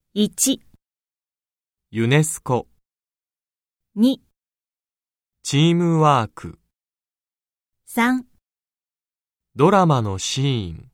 1、 ユネスコ、 2、 チームワーク、 3 ドラマのシーン。